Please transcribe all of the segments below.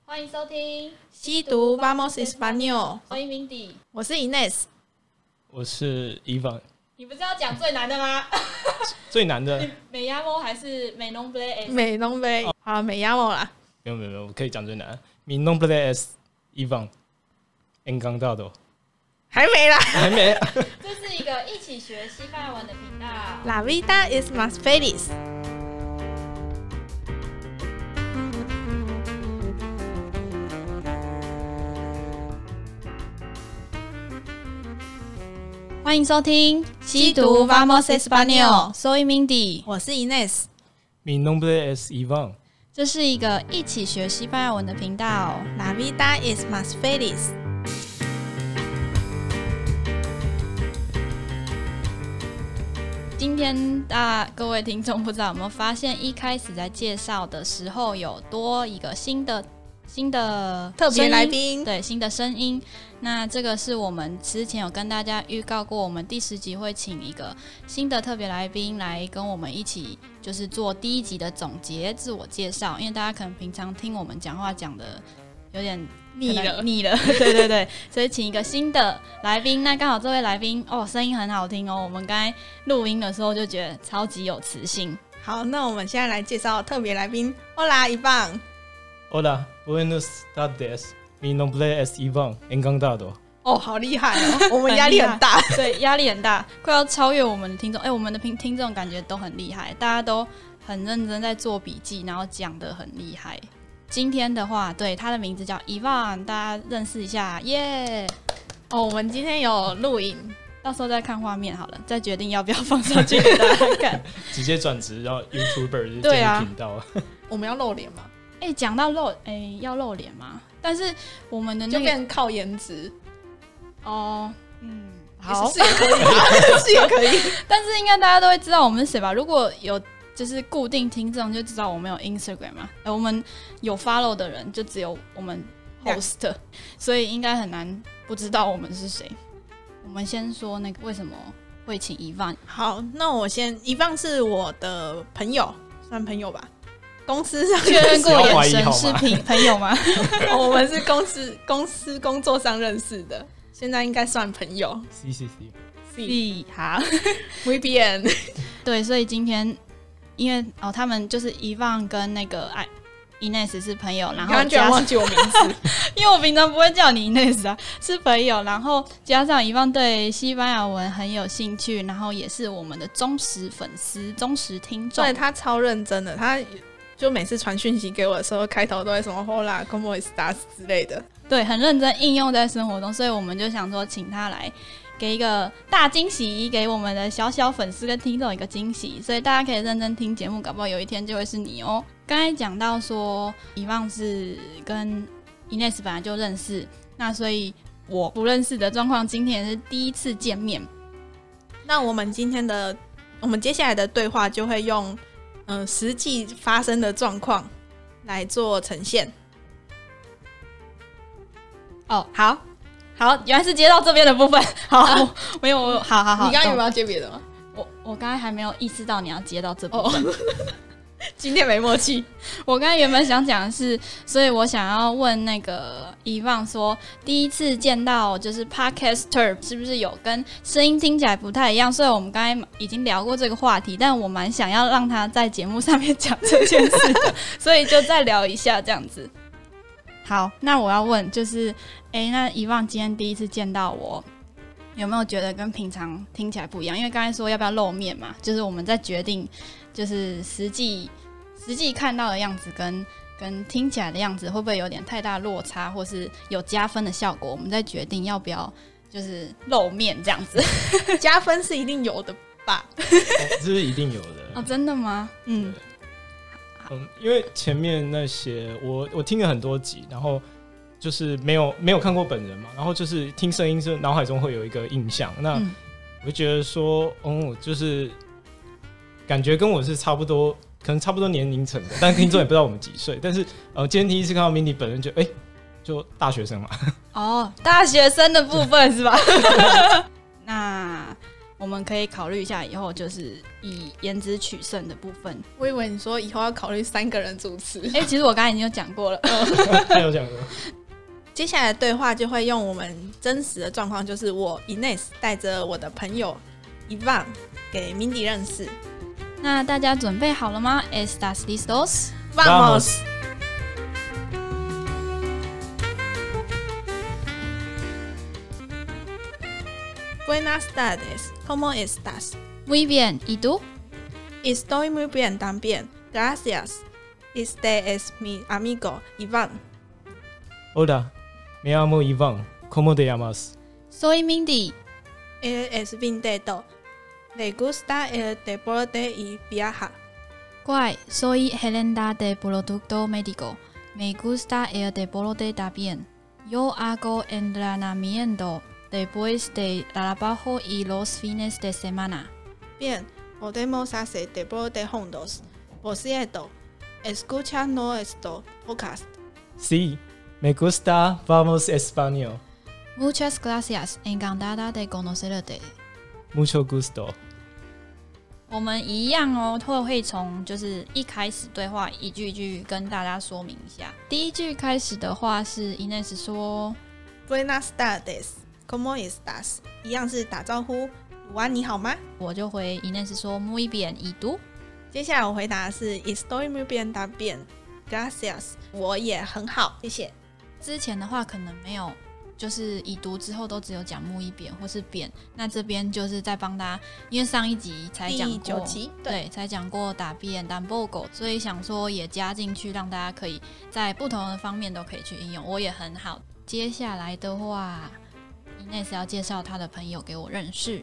歡迎收聽西讀 Vamos Español， 我是 Mindy， 我是 Ines， 我是 Ivan。 你不是要講最難的嗎？ 最難的美亞莫還是美濃布雷？ 美濃布雷，好，美亞莫啦。 沒有，我可以講最難。Mi nombre es Ivan Encantado。還沒啦，還沒。 這是一個一起學西班牙文的頻道。 La vida es más feliz。 歡迎收聽西讀 Vamos Español，Soy Mindy， 我是 Ines。 Mi nombre es Ivan。 這是一個一起學西班牙文的頻道。 La vida es más feliz。 今天各位聽眾不知道有沒有發現，一開始在介紹的時候有多一個新的特別來賓， 對，新的聲音。那這個是我們之前有跟大家預告過，我們第10集會請一個新的特別來賓來跟我們一起，就是做第1集的總結、自我介紹。因為大家可能平常聽我們講話講的有點膩了，對對，所以請一個新的來賓。那剛好這位來賓聲音很好聽哦，我們刚才錄音的時候就覺得超級有磁性。 好，那我們現在來介紹特別來賓。Hola Ivan。Hola, buenos tardes. Mi nombre es Ivan Encantado。 好厲害哦！我們壓力很大， 對，壓力很大，快要超越我們的聽眾。我們的聽眾感覺都很厲害，大家都很認真在做筆記，然後講得很厲害。今天的話，對，他的名字叫 Ivan， 大家認識一下，耶！ 我們今天有錄影， 到時候再看畫面好了，再決定要不要放上去給大家看。 直接轉職，然後 YouTuber 建立頻道。 我們要露臉嗎？ 講到要露臉嗎？但是我們的就變靠顏值。 好， 是也可以，是也可以。 但是應該大家都會知道我們是誰吧？如果有就是固定聽眾就知道我們有 Instagram 嘛，我們有 follow 的人就只有我們 host， 所以應該很難不知道我們是誰。我們先說那個為什麼會請 Ivan。 好，那我先，Ivan是我的朋友，算朋友吧。公司上確認過眼神是朋友嗎？ 我們是公司工作上認識的，現在應該算朋友。 C 好 ，Muy bien。 對，所以今天因為他們就是 Ivan 跟那個Ines 是朋友，然后居然忘記我名字， 因為我平常不會叫你 Ines 啊，是朋友，然後加上 Ivan 對西班牙文很有興趣，然後也是我們的忠實粉絲、忠實聽眾。 對，他超認真的，他就每次傳訊息給我的時候，開頭都會什麼 Hola, ¿cómo estás 之類的， 對，很認真應用在生活中，所以我們就想說，請他來給一個大驚喜，給我們的小小粉絲跟聽眾一個驚喜，所以大家可以認真聽節目，搞不好有一天就會是你哦。剛才講到說，Ivan是跟 Ines 本來就認識，那所以我不認識的狀況，今天也是第一次見面。 那我們接下來的對話就會用實際發生的狀況來做呈現。 好，原來是接到這邊的部分。好，沒有，好。 你剛剛有沒有要接別的嗎？ 我剛才還沒有意識到你要接到這部分。 今天沒默契。 我剛才原本想講的是，所以我想要問那個 Ivan 說，第一次見到就是 Podcaster 是不是有跟聲音聽起來不太一樣？所以我們剛才已經聊過這個話題，但我蠻想要讓他在節目上面講這件事的，所以就再聊一下這樣子。好，那我要問就是那 Ivan 今天第一次見到我，有沒有覺得跟平常聽起來不一樣？因為剛才說要不要露面嘛，就是我們在決定就是實際看到的樣子跟聽起來的樣子會不會有點太大落差，或是有加分的效果？我們在決定要不要就是露面這樣子。 加分是一定有的吧？ 這是一定有的。 真的嗎？ 因為前面那些我聽了很多集，然後就是没有看過本人嘛，然後就是听聲音是腦海中會有一個印象，那我就覺得說就是感覺跟我是差不多，可能差不多年齡層的，但聽眾也不知道我們幾歲。但是今天第一次看到 Mindy 本人就大學生嘛。 大學生的部分是吧？那我們可以考慮一下，以後就是以顏值取勝的部分。 我以為你說以後要考慮3個人主持。 其實我剛才已經有講過了。 他有講過。 接下來的對話就會用我們真實的狀況，就是我 Ines 帶着我的朋友 Ivan 給 Mindy 認識。 那大家準備好了嗎 ？Estás listos? Vamos. Buenas tardes, ¿cómo estás? Muy bien, ¿y tú? Estoy muy bien también, gracias. Este es mi amigo Ivan. Hola, me llamo Ivan. ¿Cómo te llamas? Soy Mindy. Él es vendedor. Le gusta el deporte y viaja. Guay, soy gerente de producto médico. Me gusta el deporte también. Yo hago entrenamiento después de trabajo y los fines de semana. Bien, podemos hacer deporte juntos. Por cierto, ¿escuchas nuestro podcast? Sí, me gusta. Vamos español. Muchas gracias, encantada de conocerte. Mucho gusto. 我們一樣哦，會從就是一開始對話一句一句跟大家說明一下。第一句開始的話是 Ines 說 Buenas tardes, ¿cómo estás? 一樣是打招呼，午安，你好嗎？ 我就回 Ines 說 Muy bien, ¿y tú? 接下來我回答的是 Estoy muy bien también, gracias. 我也很好，謝謝。 之前的話可能沒有。就是已讀之後都只有講muy bien或是扁，那這邊就是在幫大家，因為上一集才講過， 第9集對，才講過打扁、tampoco，所以想說也加進去，讓大家可以在不同的方面都可以去應用。我也很好。接下來的話 ，Ines 要介紹他的朋友給我認識。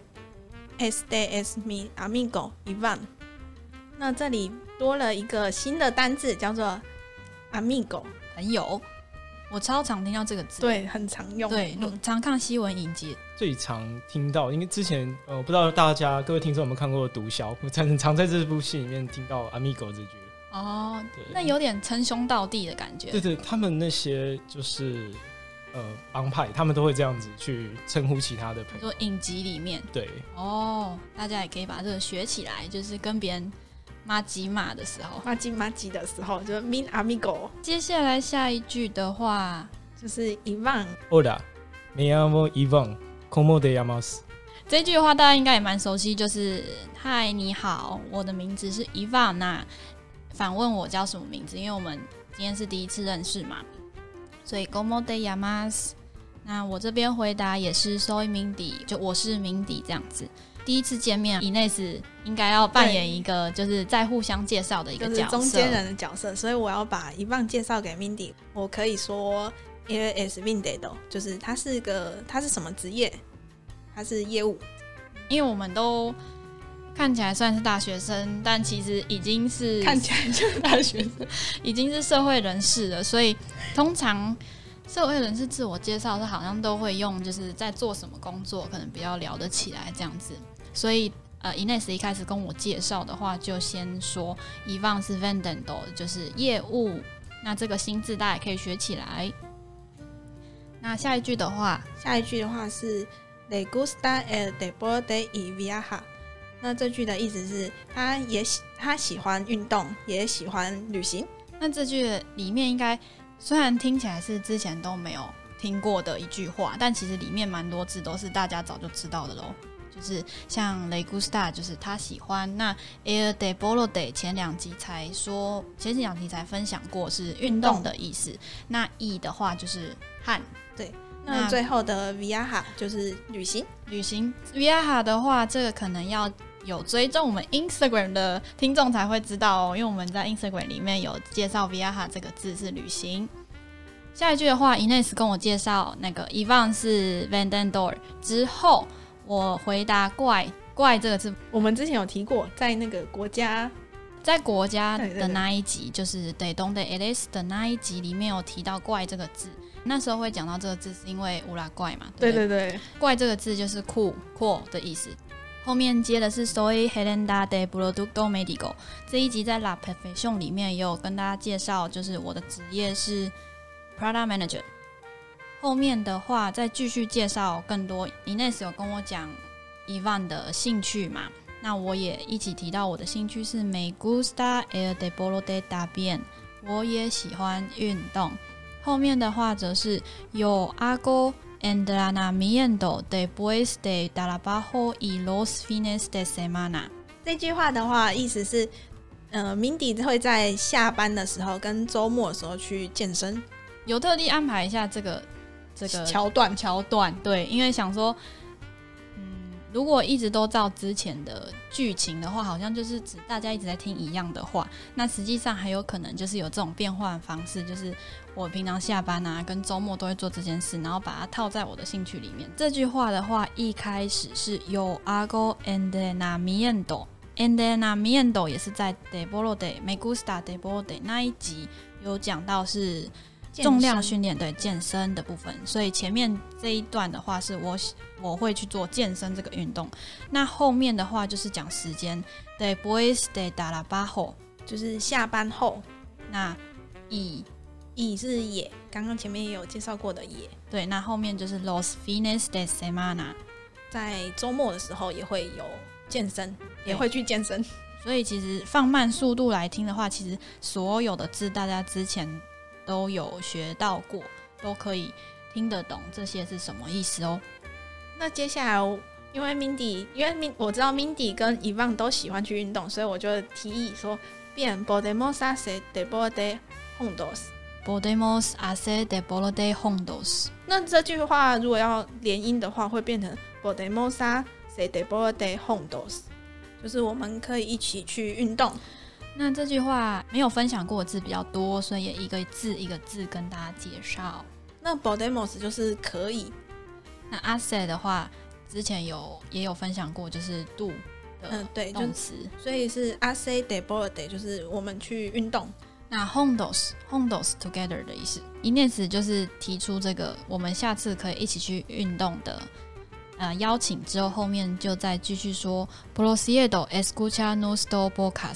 Este es mi amigo Ivan。那這裡多了一個新的單字，叫做 amigo， 朋友。我超常聽到這個字， 對，很常用。 對，常看新聞影集，最常聽到。因為之前不知道大家各位聽眾有沒有看過《毒梟》，我常在這部戲裡面聽到 "amigo" 這句。 哦，那有點稱兄道弟的感覺。對對，他們那些就是幫派，他們都會這樣子去稱呼其他的朋友。 說影集裡面， 對。 哦，大家也可以把這個學起來，就是跟別人。麻吉馬的時候， 麻吉的時候，就是 mi amigo。 接下來下一句的話就是 Ivan。 Hola, me llamo Ivan. ¿Cómo te llamas? 這句的話大家應該也蠻熟悉，就是嗨，你好，我的名字是 Ivan。那反問我叫什麼名字？因為我們今天是第一次認識嘛，所以 ¿Cómo te llamas？ 那我這邊回答也是 Soy Mindy， 就我是 Mindy 這樣子。第一次見面 ，Ines 應該要扮演一個就是在互相介紹的一個角色， 就是中間人的角色，所以我要把Ivan介紹給 Mindy。我可以說 ，Él es vendedor， 就是他是什麼職業？他是業務。 因為我們都看起來算是大學生，但其實已經是看起來就是大學生， 已經是社會人士了，所以通常。社會人士自我介紹是好像都會用，就是在做什麼工作，可能比較聊得起來這樣子。所以Ines 一開始跟我介紹的話，就先說 Ivan 是 vendedor， 就是業務。那這個新字大家也可以學起來。那下一句的話是 Le gusta el deporte y viaja。那這句的意思是他喜歡運動，也喜歡旅行。 那這句裡面應該。雖然聽起來是之前都沒有聽過的一句話，但其實裡面蠻多字都是大家早就知道的咯。就是像 Le gusta 就是他喜歡，那 el deporte 前兩集才分享過是運動的意思。那 y 的話就是和， 對。那最後的 viaja 就是旅行。viaja 的話，這個可能要有追蹤我們 Instagram 的聽眾才會知道哦，因為我們在 Instagram 裡面有介紹 viaja 這個字是旅行。下一句的話 ，Ines 跟我介紹那個 Ivan 是 vendedor 之後，我回答怪這個字，我們之前有提過，在那個國家的那一集，就是 De donde eres 的那一集裡面有提到怪這個字。那時候會講到這個字，是因為烏拉怪嘛？對，怪這個字就是酷的意思。後面接的是 Soy gerente de producto médico。這一集在 La Profesión 裡面也有跟大家介紹，就是我的職業是 Product Manager。後面的話再繼續介紹更多。Ines 有跟我講 Ivan 的興趣嘛，那我也一起提到我的興趣是 Me gusta el deporte también， 我也喜歡運動。後面的話則是 Yo hago entrenamiento después de trabajo y los fines de semana。 這句話的話，意思是，Mindy 會在下班的時候跟週末的時候去健身， 有特地安排一下這個橋段， 對，因為想說，如果一直都照之前的劇情的話，好像就是指大家一直在聽一樣的話，那實際上還有可能就是有這種變換方式，就是我平常下班啊跟週末都會做這件事，然後把它套在我的興趣裡面。這句話的話，一開始是 Yo hago entrenamiento 也是在 deporte me gusta deporte 那一集有講到是重量訓練，對，健身的部分，所以前面這一段的話是我會去做健身這個運動，那後面的話就是講時間 después de trabajo 就是下班後， 那以是也，剛剛前面也有介紹過的也， 對，那後面就是 los fines de semana， 在週末的時候也會有健身，也會去健身， 所以其實放慢速度來聽的話，其實所有的字大家之前都有學到過，都可以聽得懂這些是什麼意思哦。 那接下來，因為我知道 Mindy 跟 Ivan 都喜歡去運動，所以我就提議說，Bien podemos hacer deporte juntos。Podemos hacer deporte juntos。 那這句話如果要連音的話，會變成 Podemos hacer deporte juntos， 就是我們可以一起去運動。 那這句話沒有分享過的字比較多，所以也一個字一個字跟大家介紹。 那 podemos 就是可以， 那 hacer 的話之前也有分享過，就是 do 的動詞， 所以是 hacer deporte 就是我們去運動。 那 juntos together 的意思，一念詞就是提出這個我們下次可以一起去運動的邀請之後，後面就再繼續說 Proceder escuchar nuestro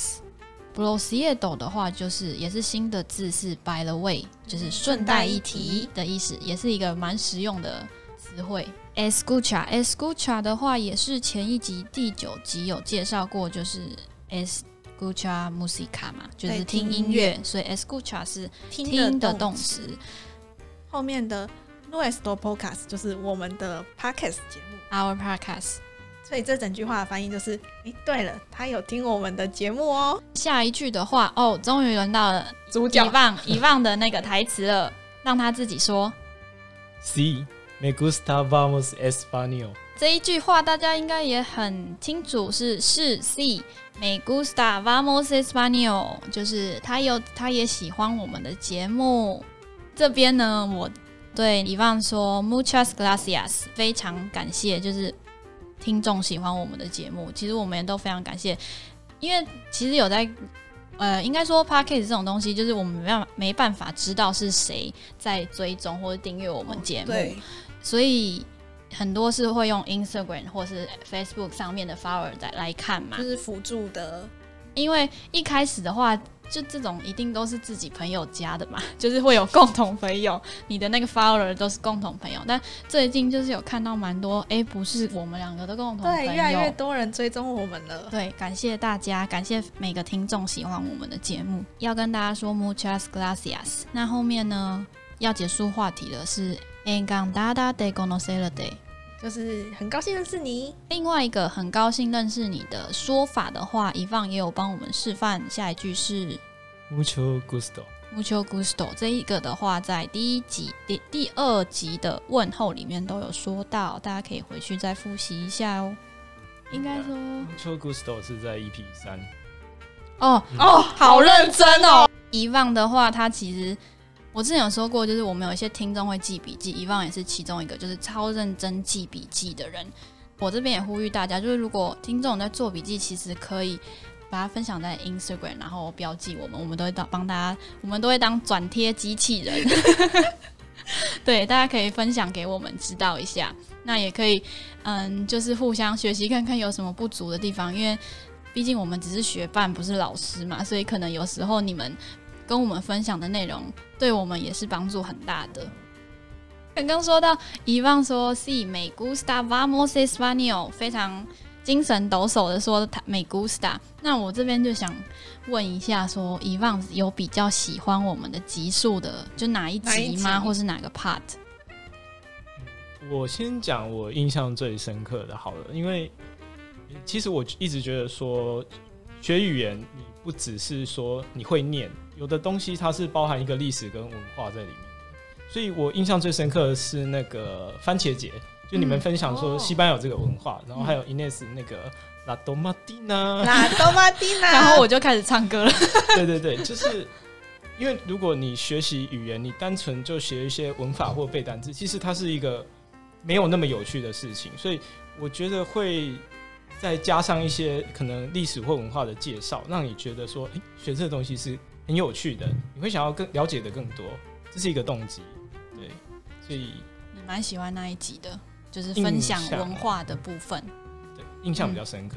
podcast。Proceder 的話就是也是新的字，是 by the way， 就是順帶一提的意思，也是一個蠻實用的詞彙。Escuchar 的話也是前一集第9集有介紹過，就是 escuchar música 嘛，就是聽音樂，所以 escuchar 是聽的動詞。 後面的 nuestro podcast 就是我們的 podcast 節目 ，our podcast。 所以這整句話的翻譯就是，對了，他有聽我們的節目哦。 下一句的話，終於輪到了主角 Ivan的那個台詞了，讓他自己說。 Sí, me gusta vamos español。 這一句話大家應該也很清楚，是 Sí, me gusta vamos español， 就是他也喜歡我們的節目。這邊呢，我對Ivan說 Muchas gracias， 非常感謝，就是聽眾喜歡我們的節目，其實我們也都非常感謝，因為其實有在應該說 Podcast 這種東西，就是我們沒辦法知道是誰在追蹤或者訂閱我們節目，所以很多是會用 Instagram 或是 Facebook 上面的 follower 來看嘛， 就是輔助的。 因為一開始的話，就這種一定都是自己朋友加的嘛，就是會有共同朋友，你的那個 follower 都是共同朋友。但最近就是有看到蠻多，不是我們兩個的共同朋友， 對，越來越多人追蹤我們了。 對，感謝大家，感謝每個聽眾喜歡我們的節目。要跟大家說 muchas gracias。那後面呢，要結束話題的是 encantada de conocerte， 就是很高興認識你。 另外一個很高興認識你的說法的話，Ivan也有幫我們示範。下一句是 Mucho gusto。Mucho gusto 這一個的話，在第2集的問候裡面都有說到，大家可以回去再複習一下哦。應該說 Mucho gusto 是在 EP3。 好認真哦。 Ivan的話，他其實我之前有說過，就是我們有一些聽眾會記筆記，Ivan也是其中一個，就是超認真記筆記的人。我這邊也呼籲大家，就是如果聽眾在做筆記，其實可以把它分享在 Instagram， 然後標記我們都會幫大家，我們都會當轉貼機器人。對，大家可以分享給我們知道一下。那也可以，就是互相學習看看有什麼不足的地方，因為畢竟我們只是學伴，不是老師嘛，所以可能有時候你們跟我們分享的內容，對我們也是幫助很大的。 剛剛說到遺忘說 "Sí, me gusta, vamos español"， 非常精神抖擻的說me gusta。那我這邊就想問一下說，遺忘有比較喜歡我們的集數的，就哪一集嗎？或是哪個 part？ 我先講我印象最深刻的好了，因為其實我一直覺得說，學語言你不只是說你會念，有的東西它是包含一個歷史跟文化在裡面。所以我印象最深刻的是那個番茄節，就你們分享說西班牙有這個文化，然後還有 Ines 那個 La Tomatina， 然後我就開始唱歌了。 對对對，就是因為如果你學習語言，你單純就學一些文法或背單字，其實它是一個沒有那麼有趣的事情。所以我覺得會再加上一些可能歷史或文化的介紹，讓你覺得說，學這個東西是很有趣的，你會想要更了解的更多，這是一個動機。對，所以你蠻喜歡那一集的，就是分享文化的部分。 对，印象比較深刻。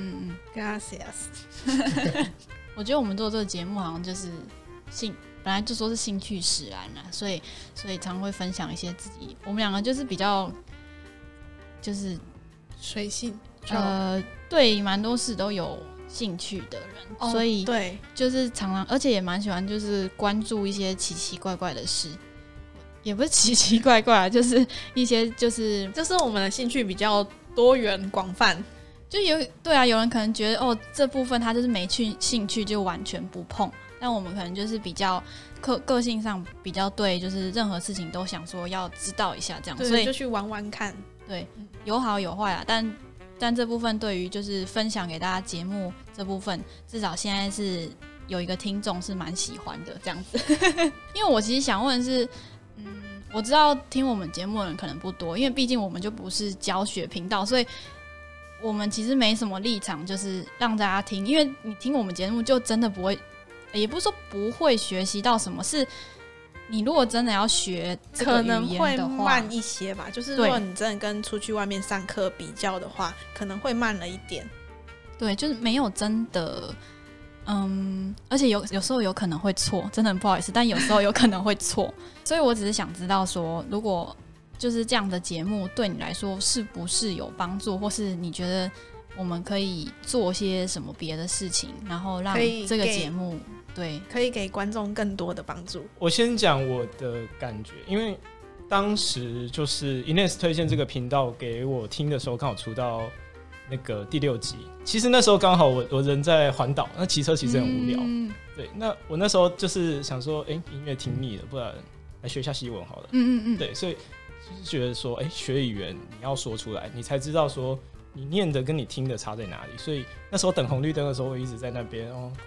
Gracias。 我觉得我們做這個節目好像就是本來就說是興趣使然啦，所以常會分享一些自己。我們兩個就是比較就是隨性， 對蠻多事都有興趣的人，所以對， 就是常常，而且也蠻喜歡就是關注一些奇奇怪怪的事。也不是奇奇怪怪，就是一些就是我们的興趣比較多元廣泛， 就對啊，有人可能覺得這部分他就是沒興趣就完全不碰，但我們可能就是比較個性上比較對，就是任何事情都想說要知道一下這樣，所以就去玩玩看， 對，有好有壞啊，但這部分對於就是分享給大家節目這部分，至少現在是有一個聽眾是蠻喜歡的這樣子。因為我其實想問的是。我知道聽我們節目的人可能不多，因為畢竟我們就不是教學頻道，所以我們其實沒什麼立場，就是讓大家聽。因為你聽我們節目，就真的不會，也不是說不會學習到什麼，是你如果真的要學這個語言的話，可能會慢一些吧。就是如果你真的跟出去外面上課比較的話，可能會慢了一點。 對，就是沒有真的。而且有時候有可能會錯，真的很不好意思，但有時候有可能會錯，所以我只是想知道說，如果就是這樣的節目對你來說是不是有幫助，或是你覺得我們可以做些什麼別的事情，然後讓這個節目可以給觀眾更多的幫助。 我先講我的感覺，因為當時就是 Ines 推薦這個頻道給我聽的時候，剛好出到那個第6集，其實那時候剛好我人在環島，那騎車其實很無聊。對，那我那時候就是想說，音樂聽膩了，不然來學一下西文好了。對，所以就是覺得說，學語言你要說出來，你才知道說你念的跟你聽的差在哪裡。所以那時候等紅綠燈的時候，我一直在那邊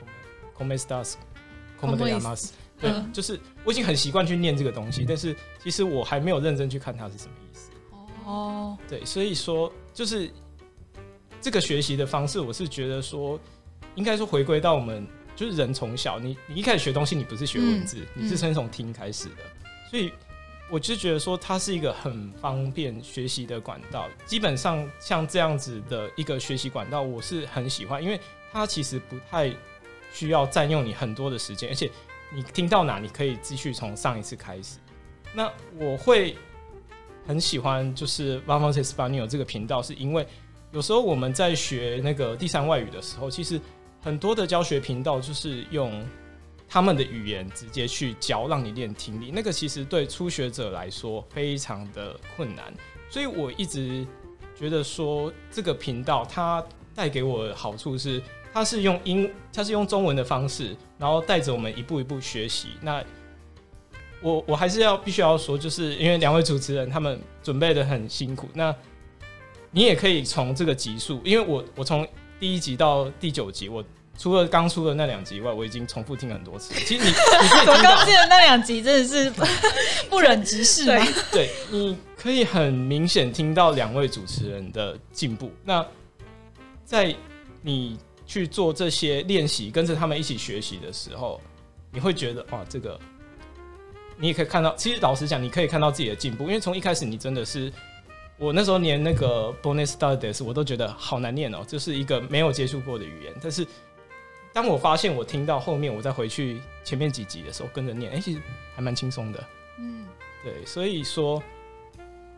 Como estas, Como te llamas。對，就是我已經很習慣去念這個東西，但是其實我還沒有認真去看它是什麼意思。對，所以說就是。這個學習的方式，我是覺得說，應該說回歸到我們就是人從小，你一開始學東西，你不是學文字，你是先從聽開始的，所以我就覺得說，它是一個很方便學習的管道。基本上像這樣子的一個學習管道，我是很喜歡，因為它其實不太需要佔用你很多的時間，而且你聽到哪，你可以繼續從上一次開始。那我會很喜歡就是 Vamos Español 這個頻道，是因為有時候我們在學那個第3外語的時候，其實很多的教學頻道就是用他們的語言直接去教，讓你練聽力。那個其實對初學者來說非常的困難，所以我一直覺得說這個頻道它帶給我的好處是，它是用中文的方式，然後帶着我們一步一步學習。那我還是必須要說，就是因為2位主持人他們準備的很辛苦，那你也可以從這個集數，因為我從第1集到第9集，我除了剛出的那2集以外，我已經重複聽了很多次。其實你可以聽到，我剛聽的那2集真的是不忍直視。 對，你可以很明顯聽到2位主持人的進步。那在你去做這些練習，跟着他們一起學習的時候，你會覺得哇，這個你也可以看到。其實老實講，你可以看到自己的進步，因為從一開始你真的是。我那時候連那個 Buenas tardes 我都覺得好難念哦，就是一個沒有接觸過的語言。但是當我發現我聽到後面，我再回去前面幾集的時候跟着念，其實還蠻輕鬆的。對，所以說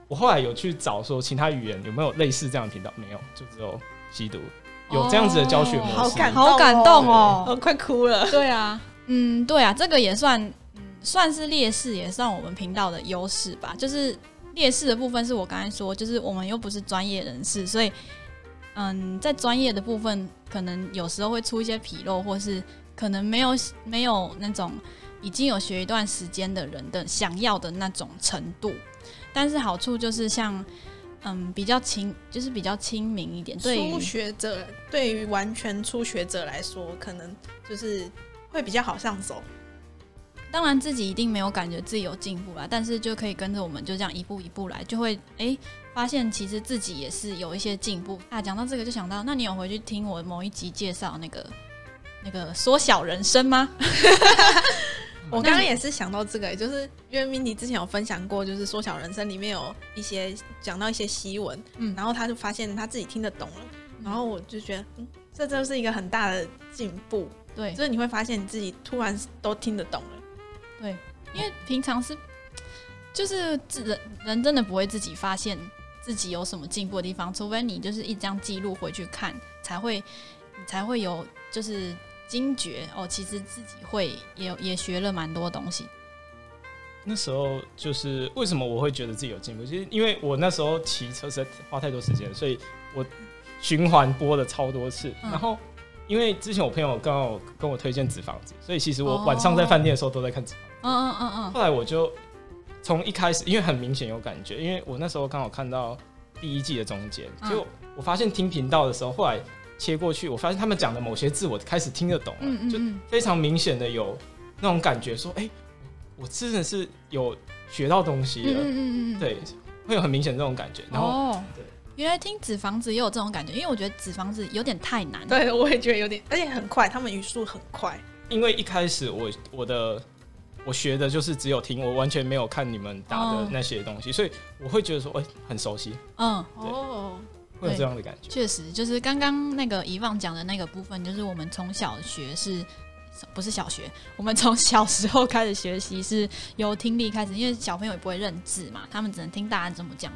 我後來有去找說其他語言有沒有類似這樣的頻道，沒有，就只有吸毒有這樣子的教學模式。 好感動哦， 我快哭了。 對啊，对啊，這個也算是劣勢，也算我們頻道的優勢吧。就是劣勢的部分是我剛才說，就是我們又不是專業人士，所以在專業的部分可能有時候會出一些紕漏，或是可能沒有那種已經有學一段時間的人的想要的那種程度。但是好處就是像比較就是比較親民一點。对初學者，对於完全初學者來說，可能就是會比較好上手。 當然自己一定沒有感覺自己有進步啦，但是就可以跟着我们就這樣一步一步來，就會發現其實自己也是有一些進步啊。講到這個就想到，那你有回去聽我某一集介紹那個縮小人生嗎？ 我剛剛也是想到這個，就是因為 Mindy 之前有分享過，就是縮小人生裡面有一些講到一些西文，然後他就發現他自己聽得懂了，然後我就覺得，這就是一個很大的進步。 对， 就是你會發現你自己突然都聽得懂了。 对，因為平常就是人真的不會自己發現自己有什麼進步的地方，除非你就是一張記錄回去看，才會有就是驚覺哦，其實自己也學了蠻多東西。 那時候就是為什麼我會覺得自己有進步，其實因為我那時候騎車實在花太多時間，所以我循環播了超多次，然後因為之前我朋友剛好跟我推薦《紙房子》，所以其實我晚上在飯店的時候都在看《紙房子》。後來我就從一開始，因為很明顯有感覺，因為我那時候剛好看到第一季的中間，結果我發現聽頻道的時候，後來切過去，我發現他們講的某些字我開始聽得懂了，就非常明顯的有那種感覺，說，我真的是有學到東西了，對，會有很明顯這種感覺。然後，對， 原來聽紙房子也有這種感覺，因為我覺得紙房子有點太難。 對，我也覺得有點，而且很快，他們語速很快。 因為一開始我學的就是只有听，我完全沒有看你們打的那些東西，所以我會覺得說，很熟悉。會有這樣的感覺。確實，就是剛剛那個遺忘講的那個部分，就是我們從小學不是小學，我們從小時候開始學習是由聽力開始，因為小朋友也不會認字嘛，他們只能聽大人怎麼講，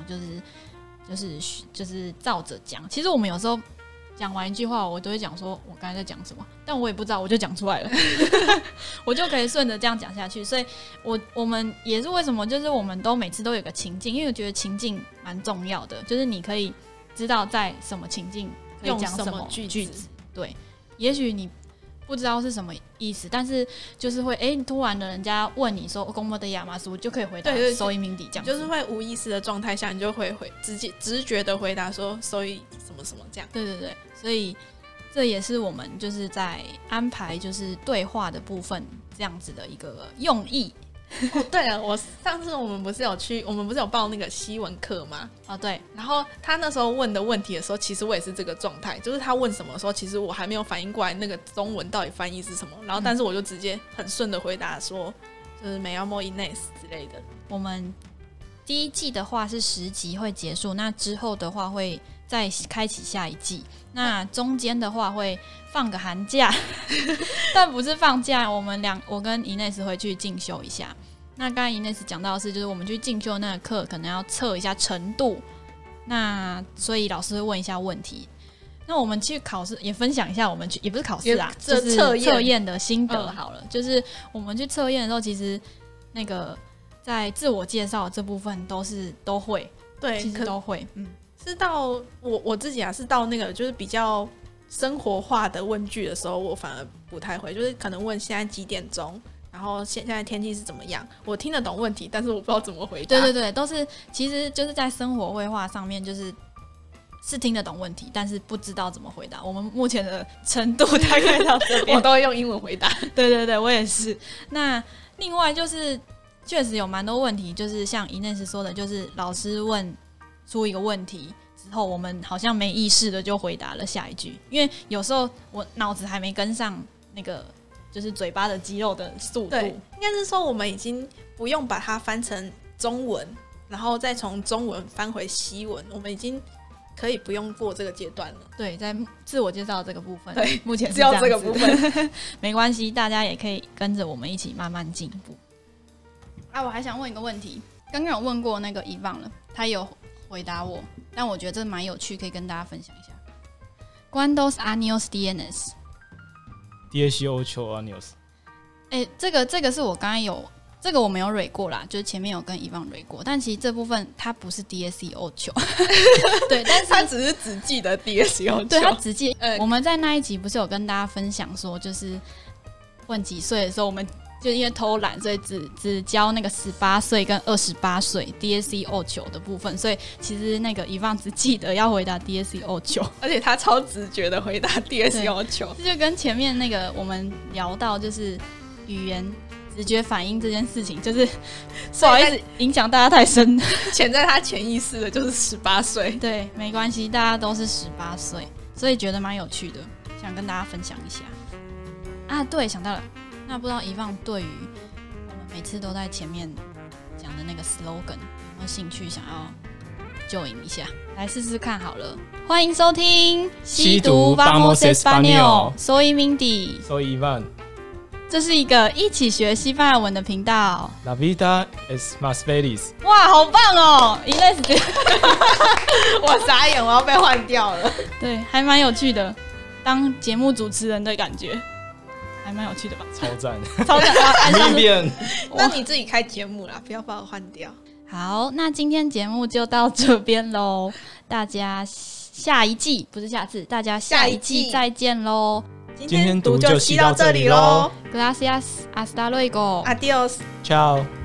就是照着講。其實我們有時候講完一句話，我都會講說我剛才在講什麼，但我也不知道，我就講出來了，我就可以順着這樣講下去。所以我們也是為什麼，就是我們都每次都有個情境，因為我覺得情境蠻重要的，就是你可以知道在什麼情境可以講什麼句子。對，也許你不知道是什麼意思，但是就是會突然的人家問你說公摩的亞麻蘇，就可以回答收音鸣笛這樣，就是會無意識的狀態下，你就會直覺的回答說收音什麼什麼這樣。對对对，所以這也是我們就是在安排就是對話的部分這樣子的一個用意。對了，上次我們不是有報那個西文課嗎？對。然後他那時候問的問題的時候，其實我也是這個狀態，就是他問什麼的時候，其實我還沒有反應過來那個中文到底翻譯是什麼，然後但是我就直接很順的回答說，就是 Me llamo Inés 之類的。我們第一季的話是10集會結束，那之後的話會再開啟下一季，那中間的話會放個寒假，但不是放假，我跟 Inés 會去進修一下。那剛才 Inés 講到的是，就是我們去進修那個課，可能要測一下程度，那所以老師會問一下問題。那我們去考試也分享一下，我們去也不是考試啊，就是測驗的心得好了。就是我們去測驗的時候，其實那個在自我介紹這部分都會，對，其實都會，是到我自己啊，是到那個就是比較生活化的問句的時候，我反而不太會，就是可能問現在幾點鐘，然後現在天氣是怎麼樣，我聽得懂問題，但是我不知道怎麼回答。對对对，都是其實就是在生活繪畫上面，就是聽得懂問題，但是不知道怎麼回答。我們目前的程度大概到這邊，我都會用英文回答。對对对，我也是。那另外就是確實有蠻多問題，就是像 Inés 說的，就是老師問出一個問題之後，我們好像沒意識的就回答了下一句，因为有時候我腦子還沒跟上那個就是嘴巴的肌肉的速度。對，應該是說我們已經不用把它翻成中文，然後再從中文翻回西文，我們已經可以不用過這個階段了。對，在自我介紹這個部分，對，目前是只要這個部分沒關係，大家也可以跟着我們一起慢慢進步。我還想問一個問題， 剛剛有問過那個遺忘了，他有回答我，但我覺得這蠻有趣，可以跟大家分享一下。¿Cuántos años tienes? 18 años。 這個是我剛剛有，這個我沒有蕊過啦，就是前面有跟遺忘蕊過，但其實這部分它不是 18，對，但是他只記得 18， 對，他只記。我們在那一集不是有跟大家分享說，就是問幾歲的時候，我們就因為偷懶，所以只教那個18歲跟28歲 18的部分，所以其實那個遺忘只記得要回答18， 而且他超直覺的回答18， 這就跟前面那個我們聊到就是語言直覺反應這件事情，就是不好意思影響大家太深， 潛在他潛意識的就是18歲。 對，沒關係，大家都是18歲，所以覺得蠻有趣的，想跟大家分享一下。啊，對，想到了，那不知道遺忘對於我們每次都在前面講的那個 slogan 有沒有興趣，想要join一下，來試試看好了。歡迎收聽西讀 Vamos Español，Soy Mindy，Soy Ivan。 這是一個一起學西班牙文的頻道。 La vida es más feliz。 哇，好棒哦！Inés， 我傻眼，我要被換掉了。 对，還蠻有趣的，當節目主持人的感覺，還蠻有趣的吧？ 超讚， 超讚！ 那你自己開節目啦，不要把我換掉。 好，那今天節目就到這邊嘍，大家下一季不是下次，大家下一季再見嘍。 今天讀就吸到這裡嘍 Gracias, hasta luego. Adiós. Ciao.